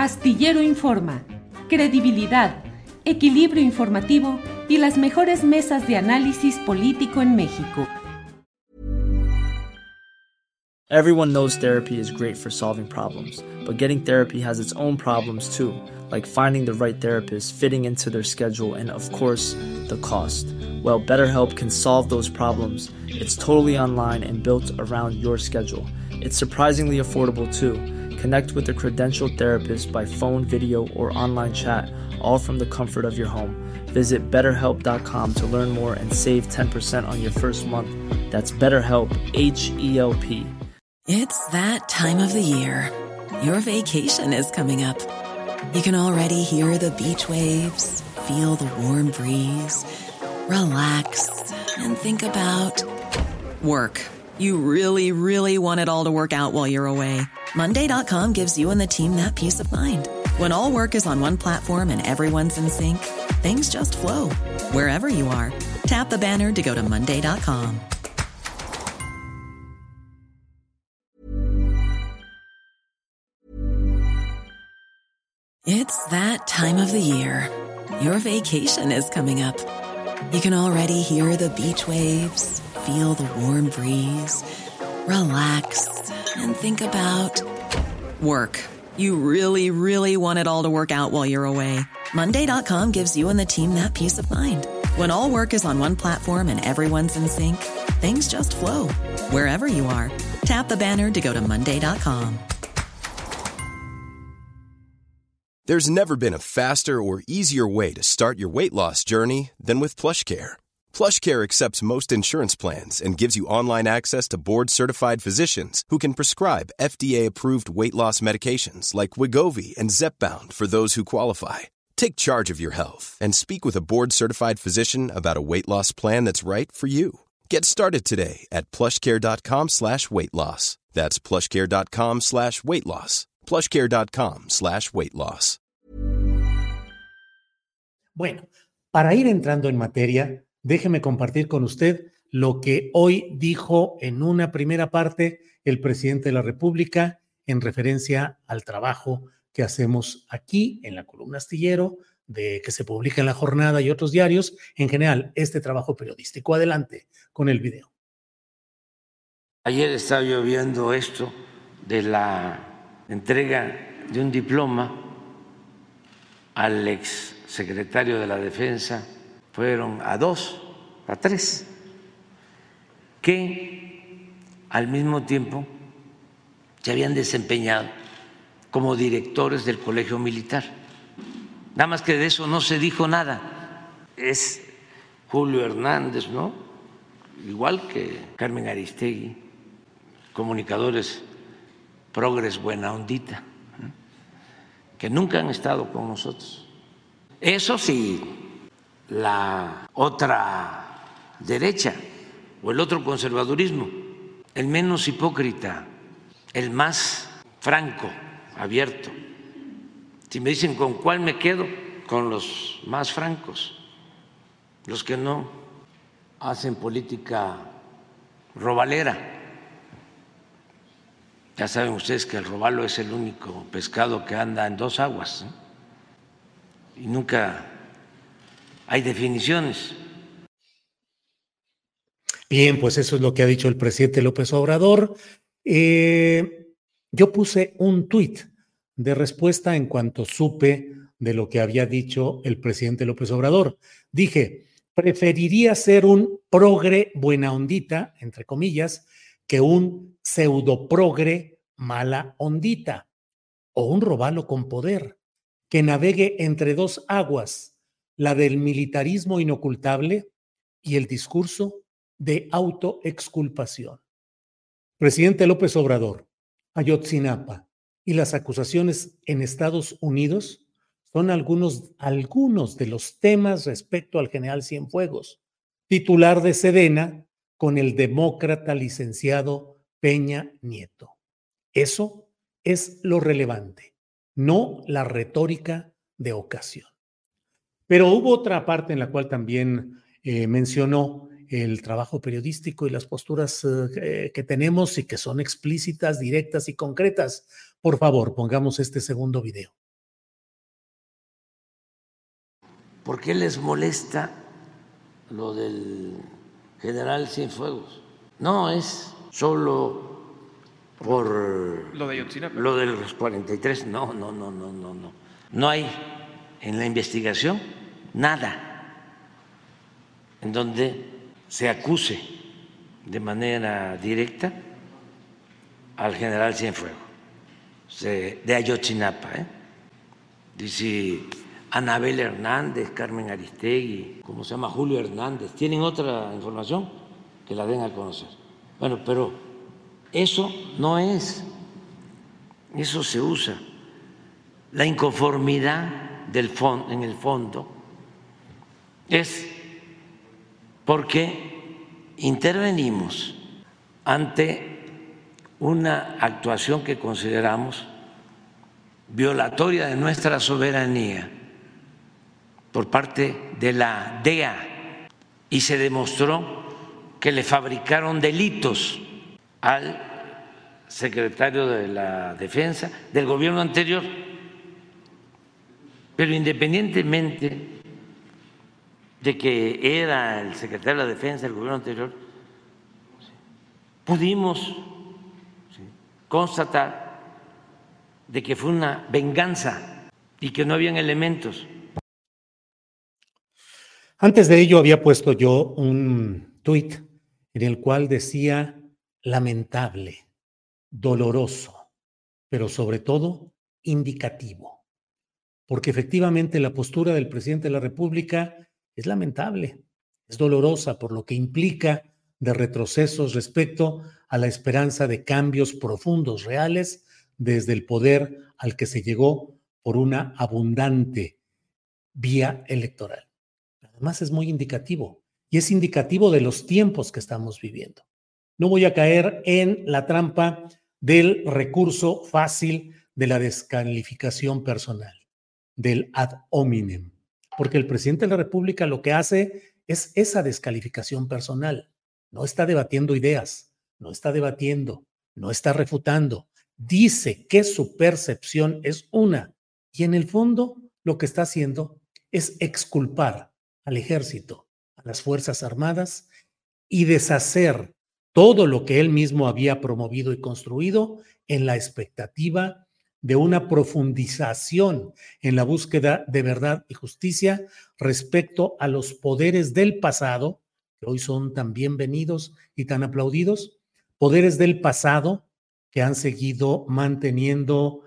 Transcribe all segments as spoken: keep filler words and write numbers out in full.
Astillero Informa, credibilidad, equilibrio informativo y las mejores mesas de análisis político en México. Everyone knows therapy is great for solving problems, but getting therapy has its own problems too, like finding the right therapist, fitting into their schedule, and of course, the cost. Well, BetterHelp can solve those problems. It's totally online and built around your schedule. It's surprisingly affordable too. Connect with a credentialed therapist by phone, video, or online chat, all from the comfort of your home. Visit better help dot com to learn more and save ten percent on your first month. That's BetterHelp, H E L P. It's that time of the year. Your vacation is coming up. You can already hear the beach waves, feel the warm breeze, relax, and think about work. You really, really want it all to work out while you're away. Monday dot com gives you and the team that peace of mind. When all work is on one platform and everyone's in sync, things just flow. Wherever you are, tap the banner to go to Monday dot com. It's that time of the year. Your vacation is coming up. You can already hear the beach waves, feel the warm breeze, relax, and think about work. You really, really want it all to work out while you're away. Monday dot com gives you and the team that peace of mind. When all work is on one platform and everyone's in sync, things just flow. Wherever you are, tap the banner to go to Monday dot com. There's never been a faster or easier way to start your weight loss journey than with PlushCare. PlushCare accepts most insurance plans and gives you online access to board-certified physicians who can prescribe F D A-approved weight loss medications like Wegovy and Zepbound for those who qualify. Take charge of your health and speak with a board-certified physician about a weight loss plan that's right for you. Get started today at plushcare.com slash weight loss. That's plushcare.com slash weight loss. plushcare.com slash weight loss. Bueno, para ir entrando en materia, déjeme compartir con usted lo que hoy dijo en una primera parte el presidente de la República en referencia al trabajo que hacemos aquí en la columna Astillero, de que se publica en La Jornada y otros diarios, en general, este trabajo periodístico. Adelante con el video. Ayer estaba yo viendo esto de la entrega de un diploma al ex secretario de la Defensa. Fueron a dos, a tres, que al mismo tiempo se habían desempeñado como directores del Colegio Militar. Nada más que de eso no se dijo nada. Es Julio Hernández, ¿no? Igual que Carmen Aristegui, comunicadores progres buena ondita, que nunca han estado con nosotros. Eso sí, la otra derecha o el otro conservadurismo, el menos hipócrita, el más franco, abierto. Si me dicen con cuál me quedo, con los más francos, los que no hacen política robalera. Ya saben ustedes que el robalo es el único pescado que anda en dos aguas, ¿eh? Y nunca hay definiciones. Bien, pues eso es lo que ha dicho el presidente López Obrador. Eh, yo puse un tuit de respuesta en cuanto supe de lo que había dicho el presidente López Obrador. Dije, preferiría ser un progre buena ondita, entre comillas, que un pseudoprogre mala ondita o un robalo con poder que navegue entre dos aguas, la del militarismo inocultable y el discurso de autoexculpación. Presidente López Obrador, Ayotzinapa y las acusaciones en Estados Unidos son algunos, algunos de los temas respecto al general Cienfuegos, titular de Sedena, con el demócrata licenciado Peña Nieto. Eso es lo relevante, no la retórica de ocasión. Pero hubo otra parte en la cual también eh, mencionó el trabajo periodístico y las posturas eh, que tenemos y que son explícitas, directas y concretas. Por favor, pongamos este segundo video. ¿por qué les molesta lo del general Cienfuegos? No es solo por lo de Ayotzinapa, lo de los cuarenta y tres, no, no, no, no, no, no. No hay en la investigación nada en donde se acuse de manera directa al general Cienfuegos de Ayotzinapa, ¿eh? Dice Anabel Hernández, Carmen Aristegui, ¿cómo se llama? Julio Hernández. ¿Tienen otra información? Que la den a conocer. Bueno, pero eso no es, eso se usa. La inconformidad del fondo, en el fondo es porque intervenimos ante una actuación que consideramos violatoria de nuestra soberanía por parte de la D E A y se demostró que le fabricaron delitos al secretario de la Defensa del gobierno anterior. Pero independientemente de que era el secretario de la Defensa del gobierno anterior, pudimos constatar de que fue una venganza y que no habían elementos. Antes de ello había puesto yo un tuit en el cual decía lamentable, doloroso, pero sobre todo indicativo, porque efectivamente la postura del presidente de la República es lamentable, es dolorosa por lo que implica de retrocesos respecto a la esperanza de cambios profundos, reales, desde el poder al que se llegó por una abundante vía electoral. Además es muy indicativo y es indicativo de los tiempos que estamos viviendo. No voy a caer en la trampa del recurso fácil de la descalificación personal, del ad hominem, porque el presidente de la República lo que hace es esa descalificación personal. No está debatiendo ideas, no está debatiendo, no está refutando. Dice que su percepción es una y en el fondo lo que está haciendo es exculpar al ejército, a las Fuerzas Armadas y deshacer todo lo que él mismo había promovido y construido en la expectativa de una profundización en la búsqueda de verdad y justicia respecto a los poderes del pasado, que hoy son tan bienvenidos y tan aplaudidos, poderes del pasado que han seguido manteniendo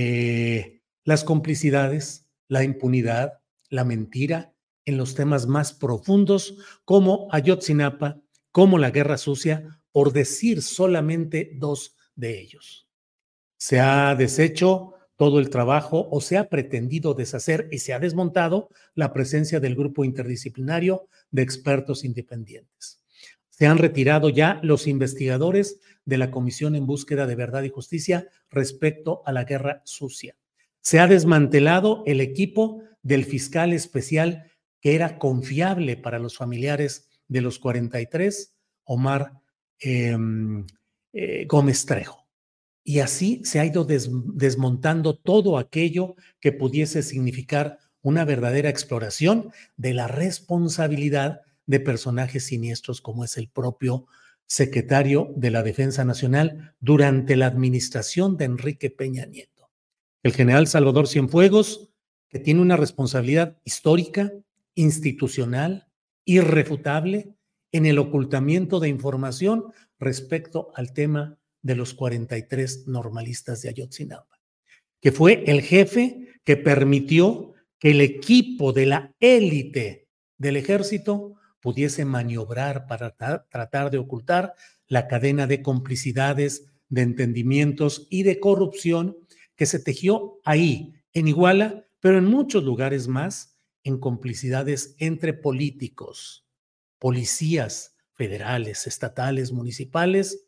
eh, las complicidades, la impunidad, la mentira en los temas más profundos como Ayotzinapa, como la Guerra Sucia, por decir solamente dos de ellos. Se ha deshecho todo el trabajo o se ha pretendido deshacer y se ha desmontado la presencia del grupo interdisciplinario de expertos independientes. Se han retirado ya los investigadores de la Comisión en Búsqueda de Verdad y Justicia respecto a la Guerra Sucia. Se ha desmantelado el equipo del fiscal especial que era confiable para los familiares de los cuarenta y tres, Omar eh, eh, Gómez Trejo. Y así se ha ido des, desmontando todo aquello que pudiese significar una verdadera exploración de la responsabilidad de personajes siniestros como es el propio secretario de la Defensa Nacional durante la administración de Enrique Peña Nieto. El general Salvador Cienfuegos, que tiene una responsabilidad histórica, institucional, irrefutable en el ocultamiento de información respecto al tema de los cuarenta y tres normalistas de Ayotzinapa, que fue el jefe que permitió que el equipo de la élite del ejército pudiese maniobrar para tra- tratar de ocultar la cadena de complicidades, de entendimientos y de corrupción que se tejió ahí, en Iguala, pero en muchos lugares más, en complicidades entre políticos, policías federales, estatales, municipales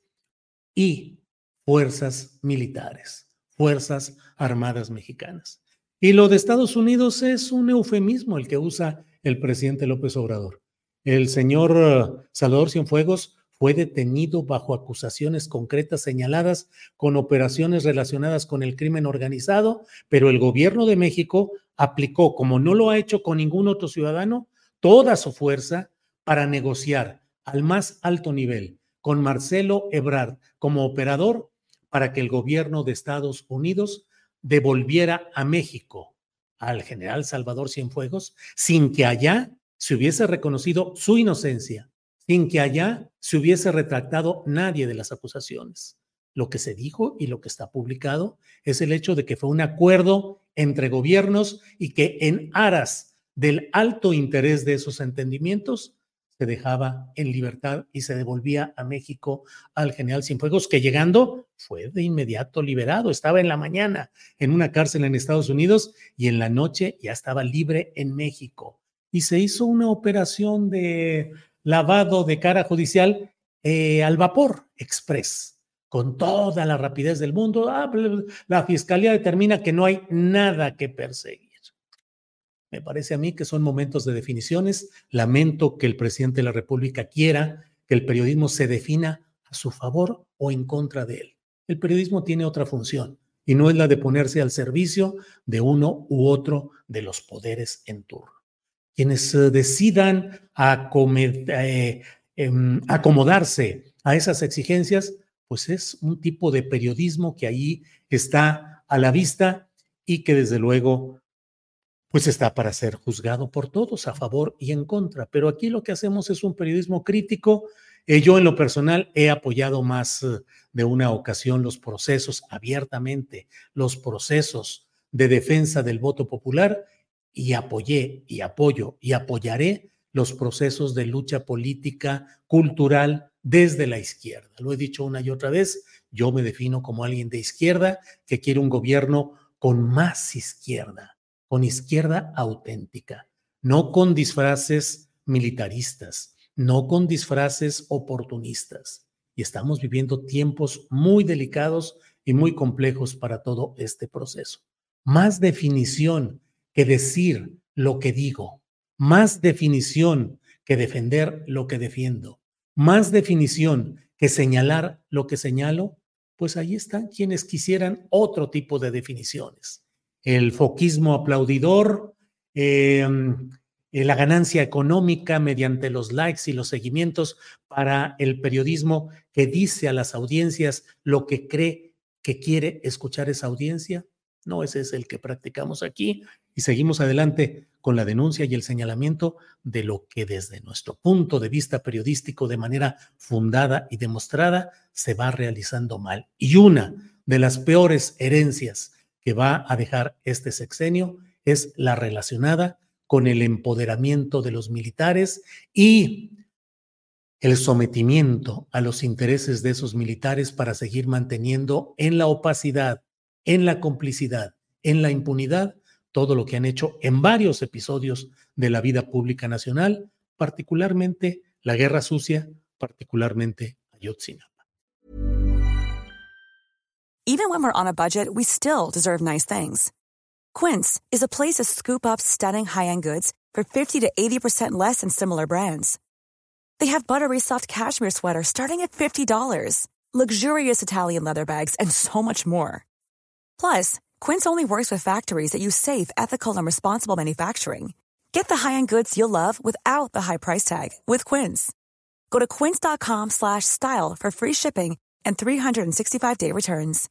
y fuerzas militares, fuerzas armadas mexicanas. Y lo de Estados Unidos es un eufemismo el que usa el presidente López Obrador. El señor Salvador Cienfuegos fue detenido bajo acusaciones concretas señaladas con operaciones relacionadas con el crimen organizado, pero el gobierno de México aplicó, como no lo ha hecho con ningún otro ciudadano, toda su fuerza para negociar al más alto nivel con Marcelo Ebrard como operador para que el gobierno de Estados Unidos devolviera a México al general Salvador Cienfuegos sin que allá se hubiese reconocido su inocencia, sin que allá se hubiese retractado nadie de las acusaciones. Lo que se dijo y lo que está publicado es el hecho de que fue un acuerdo entre gobiernos y que en aras del alto interés de esos entendimientos se dejaba en libertad y se devolvía a México al general Cienfuegos, que llegando fue de inmediato liberado. Estaba en la mañana en una cárcel en Estados Unidos y en la noche ya estaba libre en México. Y se hizo una operación de lavado de cara judicial eh, al vapor express, con toda la rapidez del mundo. Ah, la fiscalía determina que no hay nada que perseguir. Me parece a mí que son momentos de definiciones. Lamento que el presidente de la República quiera que el periodismo se defina a su favor o en contra de él. El periodismo tiene otra función y no es la de ponerse al servicio de uno u otro de los poderes en turno. Quienes eh, decidan acomed- eh, eh, acomodarse a esas exigencias, pues es un tipo de periodismo que ahí está a la vista y que desde luego pues está para ser juzgado por todos, a favor y en contra. Pero aquí lo que hacemos es un periodismo crítico. Eh, yo en lo personal he apoyado más eh, de una ocasión los procesos abiertamente, los procesos de defensa del voto popular, y apoyé y apoyo y apoyaré los procesos de lucha política, cultural desde la izquierda. Lo he dicho una y otra vez, yo me defino como alguien de izquierda que quiere un gobierno con más izquierda, con izquierda auténtica, no con disfraces militaristas, no con disfraces oportunistas. Y estamos viviendo tiempos muy delicados y muy complejos para todo este proceso. Más definición que decir lo que digo, más definición que defender lo que defiendo, más definición que señalar lo que señalo, pues ahí están quienes quisieran otro tipo de definiciones. El foquismo aplaudidor, eh, la ganancia económica mediante los likes y los seguimientos para el periodismo que dice a las audiencias lo que cree que quiere escuchar esa audiencia. No, ese es el que practicamos aquí y seguimos adelante con la denuncia y el señalamiento de lo que desde nuestro punto de vista periodístico de manera fundada y demostrada se va realizando mal. Y una de las peores herencias que va a dejar este sexenio es la relacionada con el empoderamiento de los militares y el sometimiento a los intereses de esos militares para seguir manteniendo en la opacidad, en la complicidad, en la impunidad, todo lo que han hecho en varios episodios de la vida pública nacional, particularmente la Guerra Sucia, particularmente Ayotzinapa. Even when we're on a budget, we still deserve nice things. Quince is a place to scoop up stunning high-end goods for fifty to eighty percent less than similar brands. They have buttery soft cashmere sweaters starting at fifty dollars, luxurious Italian leather bags, and so much more. Plus, Quince only works with factories that use safe, ethical, and responsible manufacturing. Get the high-end goods you'll love without the high price tag with Quince. Go to quince.com slash style for free shipping and three sixty-five day returns.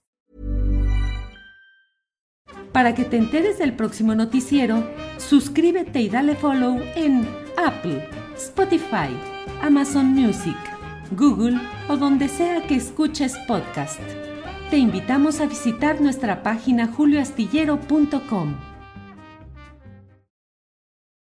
Para que te enteres del próximo noticiero, suscríbete y dale follow en Apple, Spotify, Amazon Music, Google o donde sea que escuches podcast. Te invitamos a visitar nuestra página julio astillero punto com.